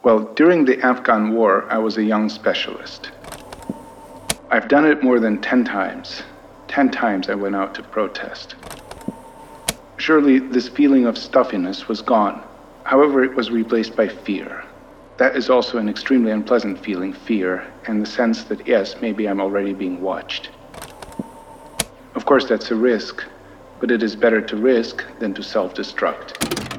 Well, during the Afghan war, I was a young specialist. I've done it more than 10 times. 10 times I went out to protest. Surely this feeling of stuffiness was gone. However, it was replaced by fear. That is also an extremely unpleasant feeling, fear, in the sense that, yes, maybe I'm already being watched. Of course, that's a risk, but it is better to risk than to self-destruct.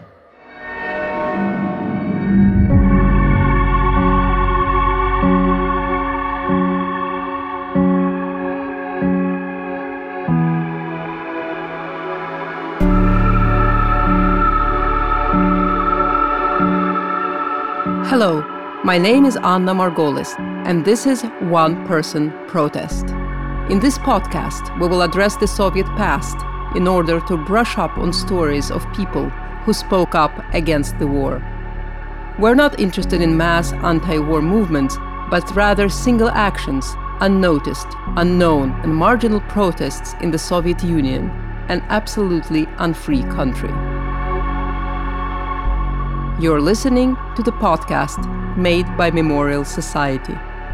Hello, my name is Anna Margolis, and this is One Person Protest. In this podcast, we will address the Soviet past in order to brush up on stories of people who spoke up against the war. We're not interested in mass anti-war movements, but rather single actions, unnoticed, unknown, and marginal protests in the Soviet Union, an absolutely unfree country. You're listening to the podcast made by Memorial Society.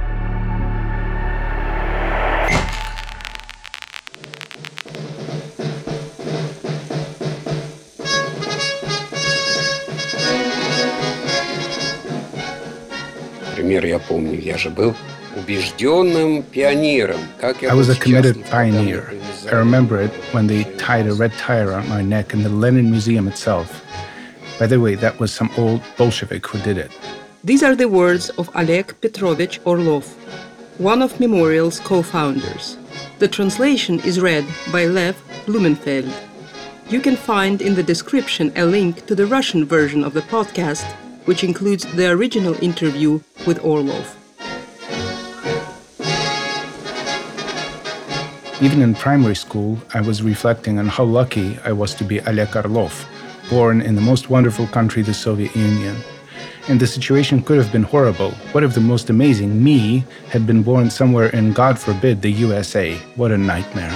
Например, я помню, я же был убежденным пионером. I was a committed pioneer. I remember it when they tied a red tie around my neck in the Lenin Museum itself. By the way, that was some old Bolshevik who did it. These are the words of Oleg Petrovich Orlov, one of Memorial's co-founders. The translation is read by Lev Blumenfeld. You can find in the description a link to the Russian version of the podcast, which includes the original interview with Orlov. Even in primary school, I was reflecting on how lucky I was to be Oleg Orlov, born in the most wonderful country, the Soviet Union. And the situation could have been horrible. What if the most amazing me had been born somewhere in, God forbid, the USA? What a nightmare.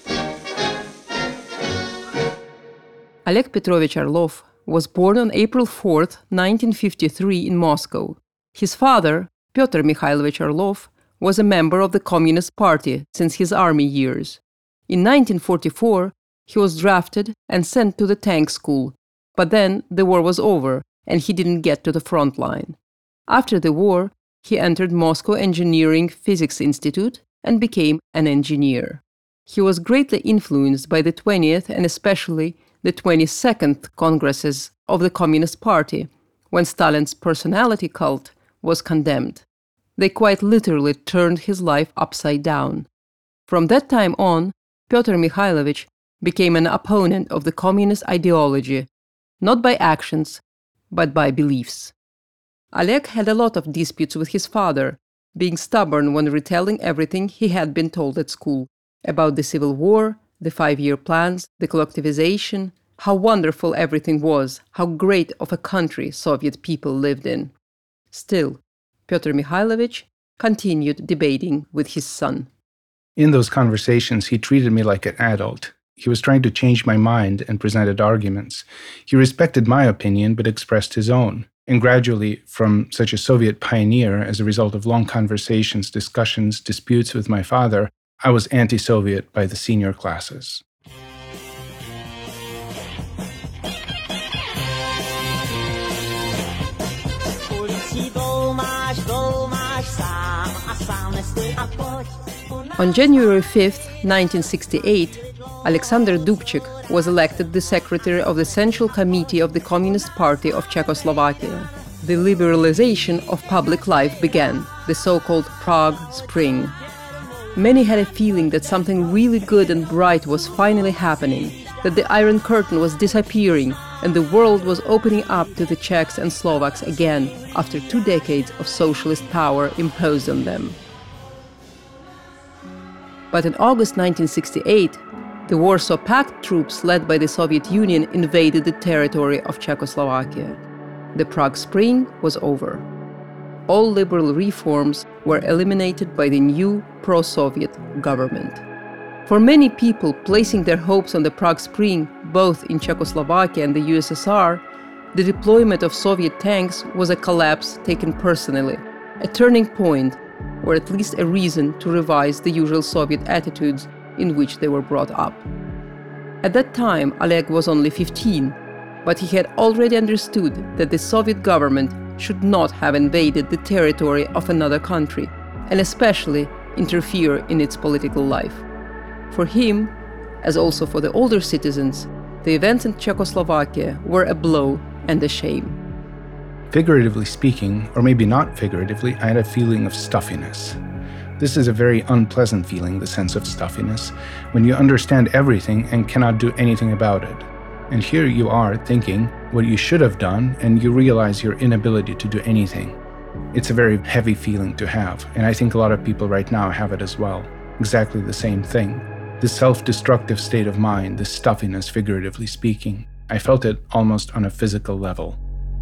Oleg Petrovich Orlov was born on April 4, 1953 in Moscow. His father, Pyotr Mikhailovich Orlov, was a member of the Communist Party since his army years. In 1944, he was drafted and sent to the tank school, but then the war was over and he didn't get to the front line. After the war, he entered Moscow Engineering Physics Institute and became an engineer. He was greatly influenced by the 20th and especially the 22nd Congresses of the Communist Party, when Stalin's personality cult was condemned. They quite literally turned his life upside down. From that time on, Pyotr Mikhailovich became an opponent of the communist ideology, not by actions, but by beliefs. Oleg had a lot of disputes with his father, being stubborn when retelling everything he had been told at school about the civil war, the 5-year plans, the collectivization, how wonderful everything was, how great of a country Soviet people lived in. Still, Pyotr Mikhailovich continued debating with his son. In those conversations, he treated me like an adult. He was trying to change my mind and presented arguments. He respected my opinion but expressed his own. And gradually, from such a Soviet pioneer, as a result of long conversations, discussions, disputes with my father, I was anti-Soviet by the senior classes. On January 5, 1968, Alexander Dubček was elected the secretary of the Central Committee of the Communist Party of Czechoslovakia. The liberalization of public life began, the so-called Prague Spring. Many had a feeling that something really good and bright was finally happening, that the Iron Curtain was disappearing and the world was opening up to the Czechs and Slovaks again after 2 decades of socialist power imposed on them. But in August 1968, the Warsaw Pact troops led by the Soviet Union invaded the territory of Czechoslovakia. The Prague Spring was over. All liberal reforms were eliminated by the new pro-Soviet government. For many people placing their hopes on the Prague Spring, both in Czechoslovakia and the USSR, The deployment of Soviet tanks was a collapse taken personally, a turning point, or at least a reason to revise the usual Soviet attitudes in which they were brought up. At that time, Oleg was only 15, but he had already understood that the Soviet government should not have invaded the territory of another country, and especially interfere in its political life. For him, as also for the older citizens, the events in Czechoslovakia were a blow and a shame. Figuratively speaking, or maybe not figuratively, I had a feeling of stuffiness. This is a very unpleasant feeling, the sense of stuffiness, when you understand everything and cannot do anything about it. And here you are thinking what you should have done, and you realize your inability to do anything. It's a very heavy feeling to have, and I think a lot of people right now have it as well. Exactly the same thing. This self-destructive state of mind, this stuffiness, figuratively speaking, I felt it almost on a physical level.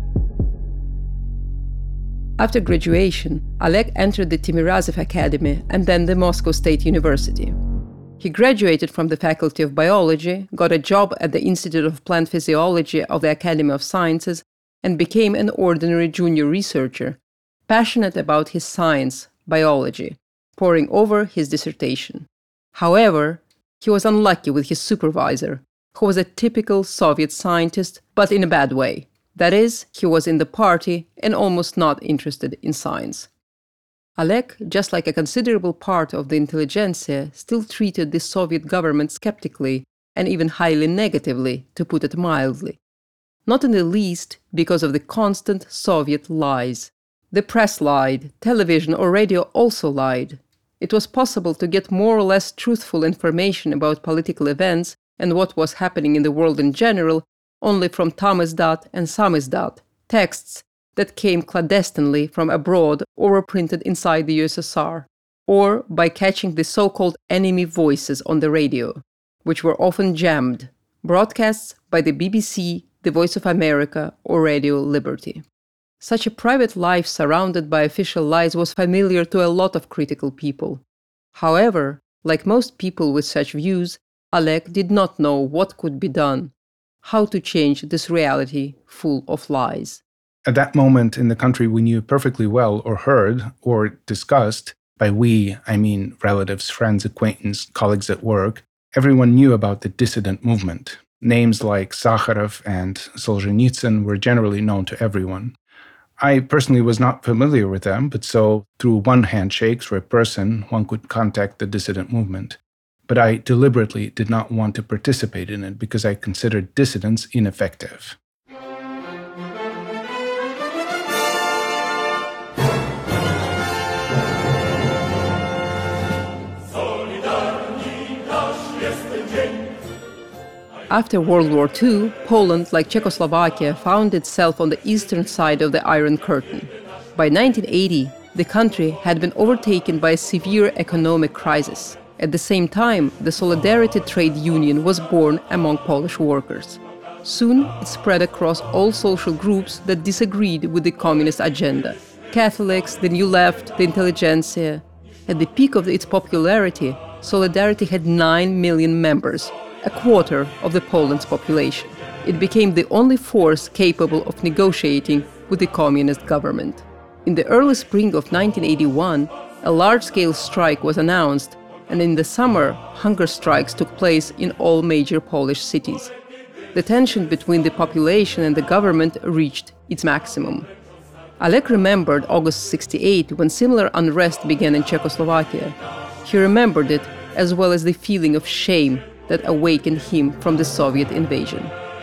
After graduation, Oleg entered the Timirazov Academy and then the Moscow State University. He graduated from the Faculty of Biology, got a job at the Institute of Plant Physiology of the Academy of Sciences, and became an ordinary junior researcher, passionate about his science, biology, poring over his dissertation. However, he was unlucky with his supervisor, who was a typical Soviet scientist, but in a bad way. That is, he was in the party and almost not interested in science. Oleg, just like a considerable part of the intelligentsia, still treated the Soviet government skeptically and even highly negatively, to put it mildly. Not in the least because of the constant Soviet lies. The press lied, television or radio also lied. It was possible to get more or less truthful information about political events and what was happening in the world in general only from Tamizdat and Samizdat, texts that came clandestinely from abroad or were printed inside the USSR, or by catching the so-called enemy voices on the radio, which were often jammed, broadcasts by the BBC, the Voice of America, or Radio Liberty. Such a private life surrounded by official lies was familiar to a lot of critical people. However, like most people with such views, Oleg did not know what could be done, how to change this reality full of lies. At that moment in the country, we knew perfectly well, or heard, or discussed, by we, I mean relatives, friends, acquaintances, colleagues at work, everyone knew about the dissident movement. Names like Sakharov and Solzhenitsyn were generally known to everyone. I personally was not familiar with them, but so through one handshake, through a person, one could contact the dissident movement. But I deliberately did not want to participate in it because I considered dissidents ineffective. After World War II, Poland, like Czechoslovakia, found itself on the eastern side of the Iron Curtain. By 1980, the country had been overtaken by a severe economic crisis. At the same time, the Solidarity Trade Union was born among Polish workers. Soon, it spread across all social groups that disagreed with the communist agenda. Catholics, the New Left, the intelligentsia. At the peak of its popularity, Solidarity had 9 million members, a quarter of the Poland's population. It became the only force capable of negotiating with the communist government. In the early spring of 1981, a large-scale strike was announced, and in the summer, hunger strikes took place in all major Polish cities. The tension between the population and the government reached its maximum. Oleg remembered August '68 when similar unrest began in Czechoslovakia. He remembered it as well as the feeling of shame that awakened him from the Soviet invasion.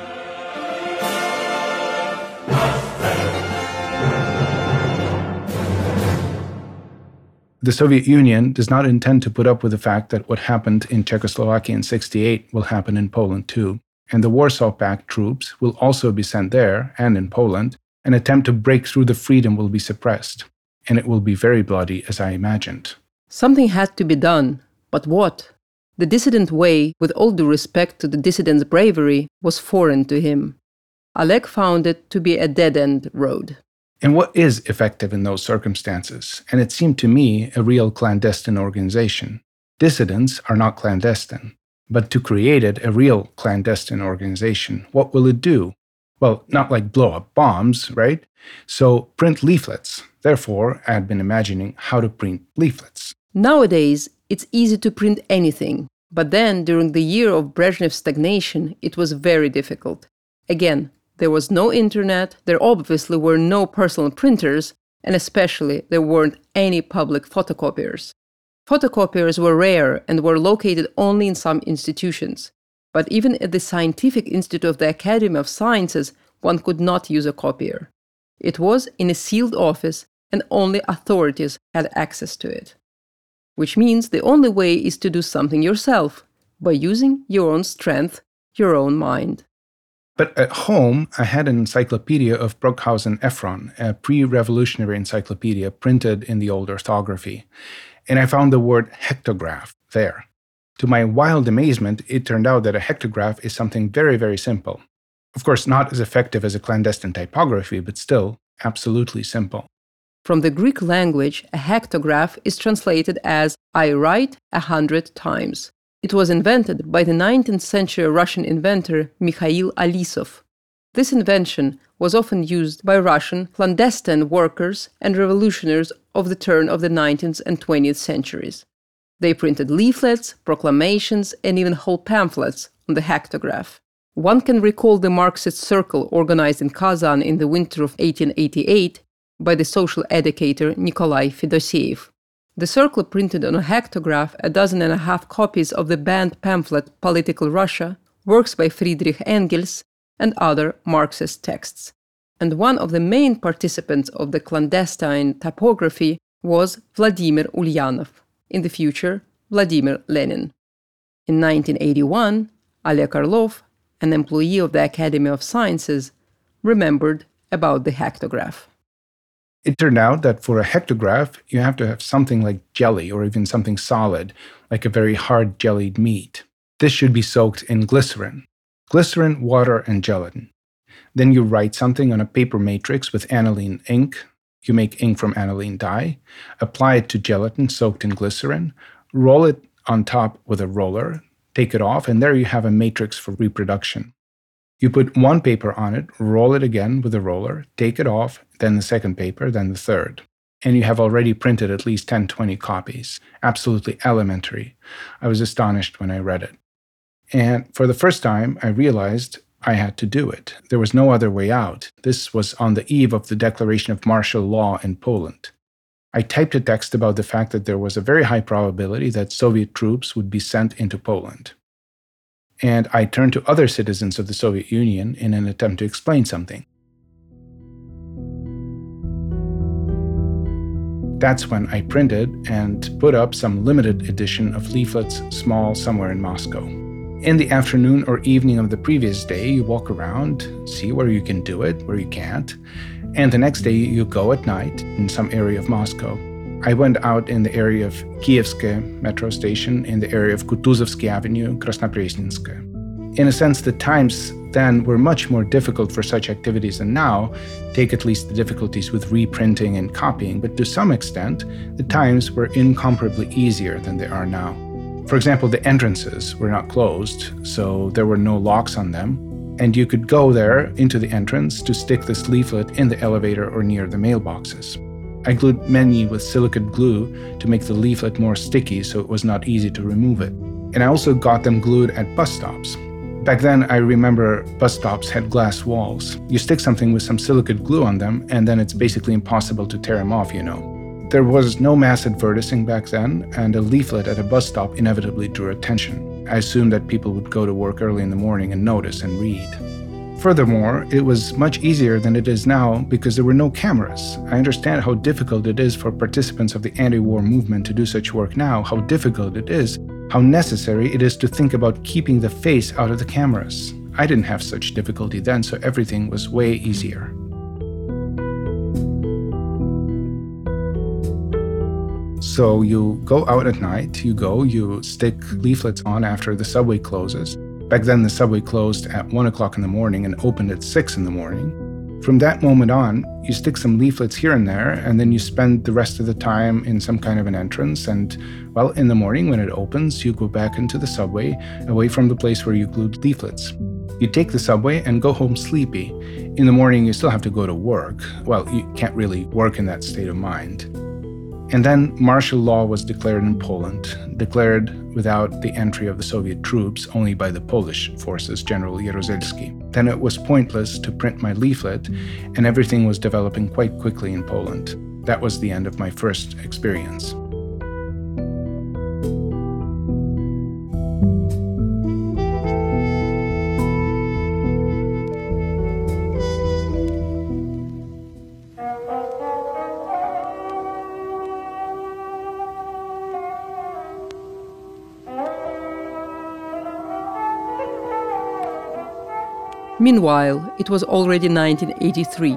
The Soviet Union does not intend to put up with the fact that what happened in Czechoslovakia in '68 will happen in Poland too, and the Warsaw Pact troops will also be sent there and in Poland. An attempt to break through the freedom will be suppressed, and it will be very bloody, as I imagined. Something had to be done, but what? The dissident way, with all due respect to the dissident's bravery, was foreign to him. Oleg found it to be a dead-end road. And what is effective in those circumstances? And it seemed to me a real clandestine organization. Dissidents are not clandestine. But to create it, a real clandestine organization, what will it do? Well, not like blow up bombs, right? So print leaflets. Therefore, I had been imagining how to print leaflets. Nowadays, it's easy to print anything, but then during the year of Brezhnev's stagnation, it was very difficult. Again, there was no internet, there obviously were no personal printers, and especially there weren't any public photocopiers. Photocopiers were rare and were located only in some institutions. But even at the Scientific Institute of the Academy of Sciences, one could not use a copier. It was in a sealed office, and only authorities had access to it. Which means the only way is to do something yourself, by using your own strength, your own mind. But at home, I had an encyclopedia of Brockhausen Ephron, a pre-revolutionary encyclopedia printed in the old orthography, and I found the word hectograph there. To my wild amazement, it turned out that a hectograph is something very, very simple. Of course, not as effective as a clandestine typography, but still absolutely simple. From the Greek language, a hectograph is translated as "I write 100 times." It was invented by the 19th century Russian inventor Mikhail Alisov. This invention was often used by Russian clandestine workers and revolutionaries of the turn of the 19th and 20th centuries. They printed leaflets, proclamations, and even whole pamphlets on the hectograph. One can recall the Marxist circle organized in Kazan in the winter of 1888 by the social educator Nikolai Fedoseev. The circle printed on a hectograph 12.5 copies of the banned pamphlet Political Russia, works by Friedrich Engels, and other Marxist texts. And one of the main participants of the clandestine typography was Vladimir Ulyanov, in the future Vladimir Lenin. In 1981, Oleg Orlov, an employee of the Academy of Sciences, remembered about the hectograph. It turned out that for a hectograph, you have to have something like jelly or even something solid, like a very hard jellied meat. This should be soaked in glycerin. Glycerin, water, and gelatin. Then you write something on a paper matrix with aniline ink. You make ink from aniline dye, apply it to gelatin soaked in glycerin, roll it on top with a roller, take it off, and there you have a matrix for reproduction. You put one paper on it, roll it again with a roller, take it off, then the second paper, then the third. And you have already printed at least 10-20 copies. Absolutely elementary. I was astonished when I read it. And for the first time, I realized I had to do it. There was no other way out. This was on the eve of the declaration of martial law in Poland. I typed a text about the fact that there was a very high probability that Soviet troops would be sent into Poland. And I turned to other citizens of the Soviet Union in an attempt to explain something. That's when I printed and put up some limited edition of leaflets, small, somewhere in Moscow. In the afternoon or evening of the previous day, you walk around, see where you can do it, where you can't, and the next day you go at night in some area of Moscow. I went out in the area of Kievske metro station, in the area of Kutuzovsky Avenue, Krasnopresnensk. In a sense, the times then were much more difficult for such activities than now, take at least the difficulties with reprinting and copying, but to some extent, the times were incomparably easier than they are now. For example, the entrances were not closed, so there were no locks on them, and you could go there into the entrance to stick this leaflet in the elevator or near the mailboxes. I glued many with silicate glue to make the leaflet more sticky so it was not easy to remove it. And I also got them glued at bus stops. Back then, I remember bus stops had glass walls. You stick something with some silicate glue on them, and then it's basically impossible to tear them off, you know. There was no mass advertising back then, and a leaflet at a bus stop inevitably drew attention. I assumed that people would go to work early in the morning and notice and read. Furthermore, it was much easier than it is now because there were no cameras. I understand how difficult it is for participants of the anti-war movement to do such work now, how difficult it is, how necessary it is to think about keeping the face out of the cameras. I didn't have such difficulty then, so everything was way easier. So you go out at night, you stick leaflets on after the subway closes. Back then, the subway closed at 1 o'clock in the morning and opened at 6 in the morning. From that moment on, you stick some leaflets here and there, and then you spend the rest of the time in some kind of an entrance. And, well, in the morning when it opens, you go back into the subway, away from the place where you glued leaflets. You take the subway and go home sleepy. In the morning, you still have to go to work. Well, you can't really work in that state of mind. And then martial law was declared in Poland, declared without the entry of the Soviet troops, only by the Polish forces, General Jaruzelski. Then it was pointless to print my leaflet, and everything was developing quite quickly in Poland. That was the end of my first experience. Meanwhile, it was already 1983.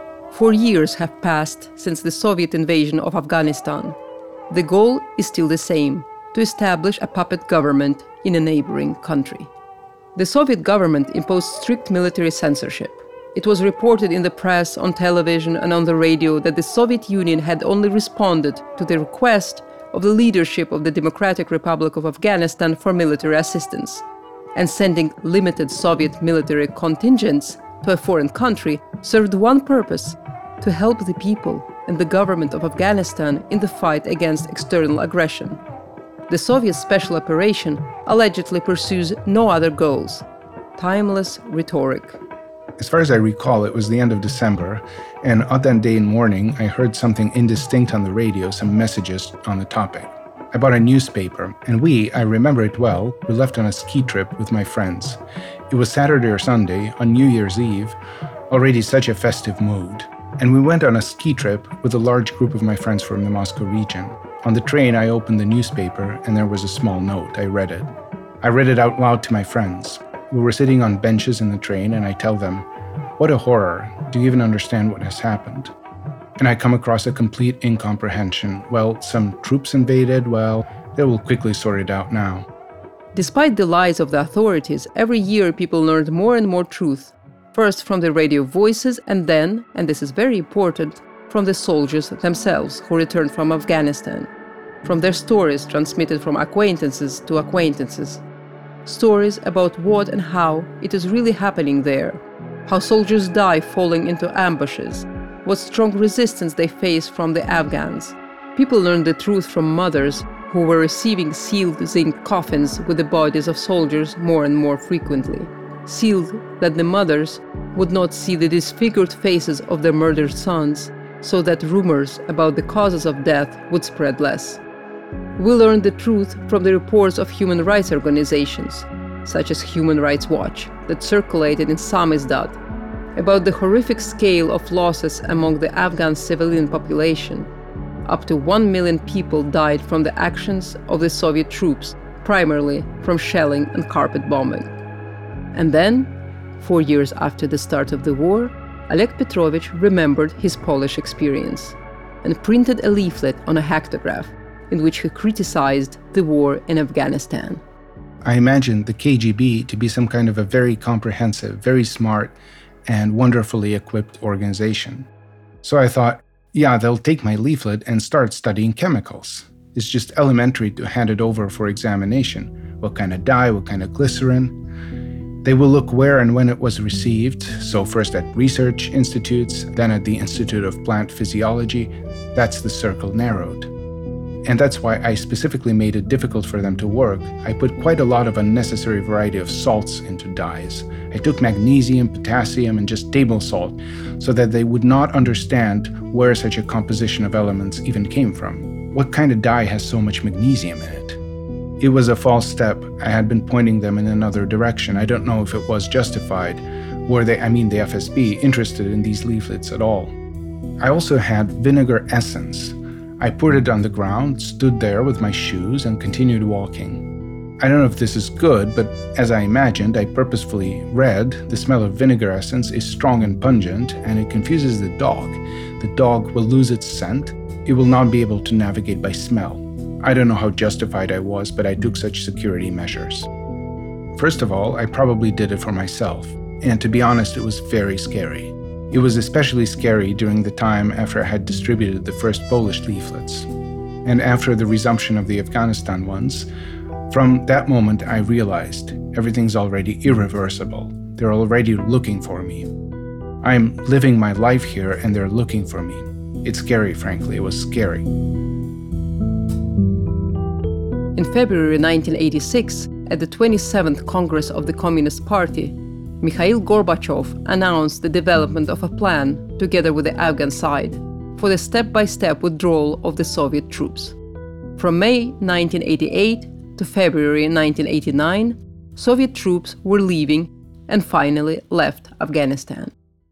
4 years have passed since the Soviet invasion of Afghanistan. The goal is still the same: to establish a puppet government in a neighboring country. The Soviet government imposed strict military censorship. It was reported in the press, on television, and on the radio that the Soviet Union had only responded to the request of the leadership of the Democratic Republic of Afghanistan for military assistance. And sending limited Soviet military contingents to a foreign country served one purpose: to help the people and the government of Afghanistan in the fight against external aggression. The Soviet special operation allegedly pursues no other goals. Timeless rhetoric. As far as I recall, it was the end of December, and on that day in morning, I heard something indistinct on the radio, some messages on the topic. I bought a newspaper, and I remember it well, we left on a ski trip with my friends. It was Saturday or Sunday, on New Year's Eve, already such a festive mood. And we went on a ski trip with a large group of my friends from the Moscow region. On the train, I opened the newspaper, and there was a small note. I read it. I read it out loud to my friends. We were sitting on benches in the train, and I tell them, "What a horror. Do you even understand what has happened?" And I come across a complete incomprehension. Well, some troops invaded, well, they will quickly sort it out now. Despite the lies of the authorities, every year people learned more and more truth. First from the radio voices, and then, and this is very important, from the soldiers themselves who returned from Afghanistan. From their stories transmitted from acquaintances to acquaintances. Stories about what and how it is really happening there. How soldiers die falling into ambushes. What strong resistance they face from the Afghans. People learned the truth from mothers who were receiving sealed zinc coffins with the bodies of soldiers more and more frequently. Sealed that the mothers would not see the disfigured faces of their murdered sons, so that rumors about the causes of death would spread less. We learned the truth from the reports of human rights organizations, such as Human Rights Watch, that circulated in Samizdat, about the horrific scale of losses among the Afghan civilian population. Up to 1 million people died from the actions of the Soviet troops, primarily from shelling and carpet bombing. And then, 4 years after the start of the war, Oleg Petrovich remembered his Polish experience and printed a leaflet on a hectograph in which he criticized the war in Afghanistan. I imagined the KGB to be some kind of a very comprehensive, very smart, and wonderfully equipped organization. So I thought, yeah, they'll take my leaflet and start studying chemicals. It's just elementary to hand it over for examination. What kind of dye, what kind of glycerin. They will look where and when it was received, so first at research institutes, then at the Institute of Plant Physiology. That's the circle narrowed. And that's why I specifically made it difficult for them to work. I put quite a lot of unnecessary variety of salts into dyes. I took magnesium, potassium, and just table salt, so that they would not understand where such a composition of elements even came from. What kind of dye has so much magnesium in it? It was a false step. I had been pointing them in another direction. I don't know if it was justified. Were they, the FSB, interested in these leaflets at all? I also had vinegar essence. I poured it on the ground, stood there with my shoes, and continued walking. I don't know if this is good, but as I imagined, I purposefully read, the smell of vinegar essence is strong and pungent, and it confuses the dog. The dog will lose its scent. It will not be able to navigate by smell. I don't know how justified I was, but I took such security measures. First of all, I probably did it for myself, and to be honest, it was very scary. It was especially scary during the time after I had distributed the first Polish leaflets. And after the resumption of the Afghanistan ones, from that moment I realized everything's already irreversible. They're already looking for me. I'm living my life here and they're looking for me. It's scary, frankly. It was scary. In February 1986, at the 27th Congress of the Communist Party, Mikhail Gorbachev announced the development of a plan, together with the Afghan side, for the step-by-step withdrawal of the Soviet troops. From May 1988 to February 1989, Soviet troops were leaving and finally left Afghanistan.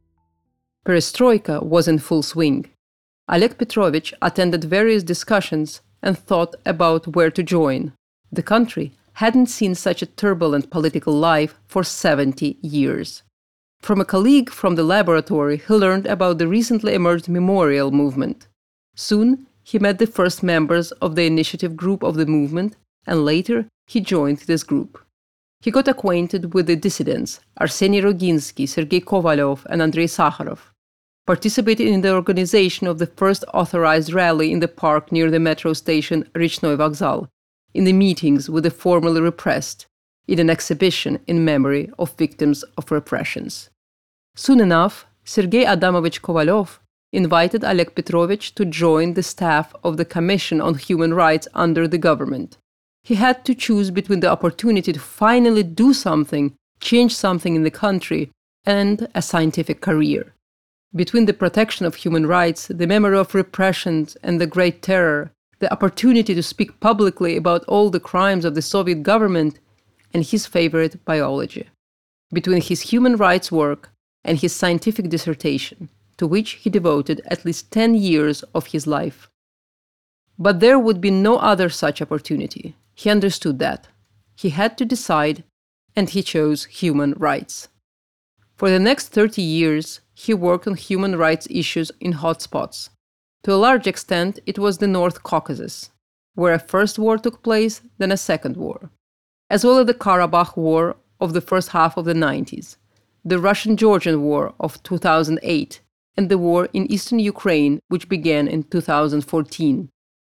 Perestroika was in full swing. Oleg Petrovich attended various discussions and thought about where to join. The country hadn't seen such a turbulent political life for 70 years. From a colleague from the laboratory, he learned about the recently emerged Memorial movement. Soon, he met the first members of the initiative group of the movement, and later he joined this group. He got acquainted with the dissidents, Arseny Roginsky, Sergei Kovalyov, and Andrei Sakharov. Participated in the organization of the first authorized rally in the park near the metro station Rechnoy Vokzal, in the meetings with the formerly repressed, in an exhibition in memory of victims of repressions. Soon enough, Sergei Adamovich Kovalyov invited Oleg Petrovich to join the staff of the Commission on Human Rights under the government. He had to choose between the opportunity to finally do something, change something in the country, and a scientific career. Between the protection of human rights, the memory of repressions, and the Great Terror, the opportunity to speak publicly about all the crimes of the Soviet government, and his favorite biology. Between his human rights work and his scientific dissertation, to which he devoted at least 10 years of his life. But there would be no other such opportunity. He understood that. He had to decide, and he chose human rights. For the next 30 years, he worked on human rights issues in hotspots. To a large extent, it was the North Caucasus, where a first war took place, then a second war, as well as the Karabakh War of the first half of the 90s, the Russian-Georgian War of 2008, and the war in eastern Ukraine, which began in 2014.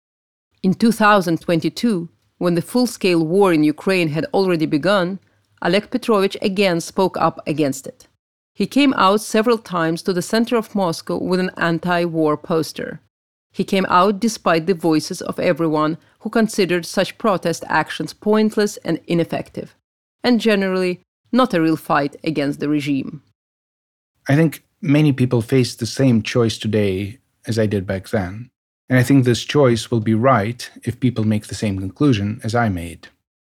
In 2022, when the full-scale war in Ukraine had already begun, Oleg Petrovich again spoke up against it. He came out several times to the center of Moscow with an anti-war poster. He came out despite the voices of everyone who considered such protest actions pointless and ineffective, and generally not a real fight against the regime. I think many people face the same choice today as I did back then. And I think this choice will be right if people make the same conclusion as I made.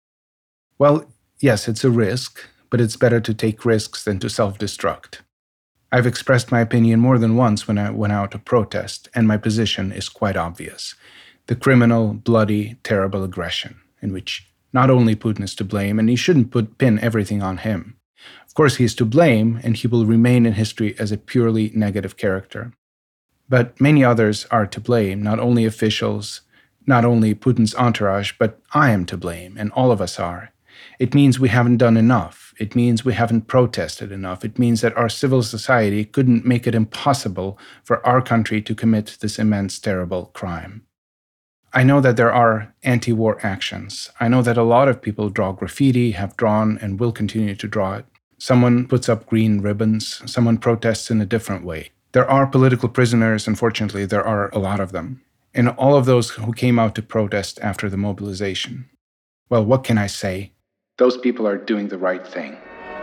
Well, yes, it's a risk, but it's better to take risks than to self-destruct. I've expressed my opinion more than once when I went out to protest, and my position is quite obvious. The criminal, bloody, terrible aggression, in which not only Putin is to blame, and he shouldn't pin everything on him. Of course, he is to blame, and he will remain in history as a purely negative character. But many others are to blame, not only officials, not only Putin's entourage, but I am to blame, and all of us are. It means we haven't done enough. It means we haven't protested enough. It means that our civil society couldn't make it impossible for our country to commit this immense, terrible crime. I know that there are anti-war actions. I know that a lot of people draw graffiti, have drawn, and will continue to draw it. Someone puts up green ribbons. Someone protests in a different way. There are political prisoners. Unfortunately, there are a lot of them. And all of those who came out to protest after the mobilization. Well, what can I say? Those people are doing the right thing.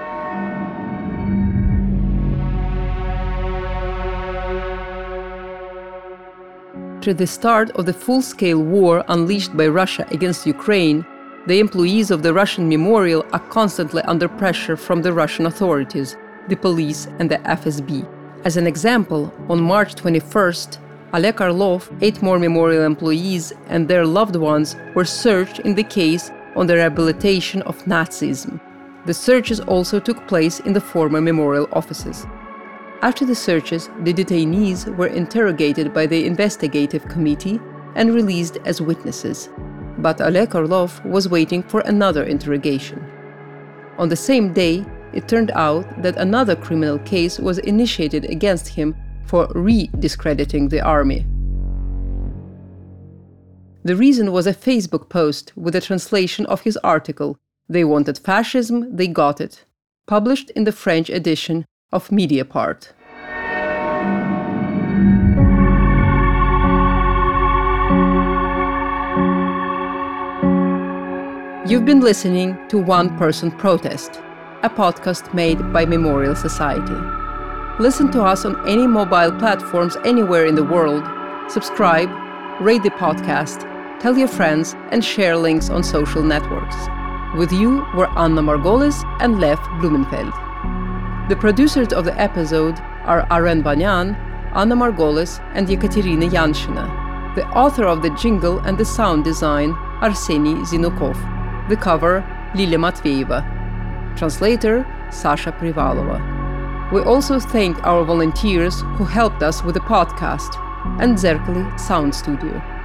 After the start of the full-scale war unleashed by Russia against Ukraine, the employees of the Russian Memorial are constantly under pressure from the Russian authorities, the police and the FSB. As an example, on March 21st, Oleg Orlov, 8 more Memorial employees and their loved ones were searched in the case on the rehabilitation of Nazism. The searches also took place in the former Memorial offices. After the searches, the detainees were interrogated by the investigative committee and released as witnesses. But Oleg Orlov was waiting for another interrogation. On the same day, it turned out that another criminal case was initiated against him for re-discrediting the army. The reason was a Facebook post with a translation of his article, "They wanted fascism, they got it." published in the French edition of Mediapart. You've been listening to One Person Protest, a podcast made by Memorial Society. Listen to us on any mobile platforms anywhere in the world, subscribe, rate the podcast, tell your friends, and share links on social networks. With you were Anna Margolis and Lev Blumenfeld. The producers of the episode are Aren Banyan, Anna Margolis, and Yekaterina Yanshina. The author of the jingle and the sound design, Arseny Zinukov. The cover, Lilia Matveyeva. Translator, Sasha Privalova. We also thank our volunteers who helped us with the podcast and Zerkali Sound Studio.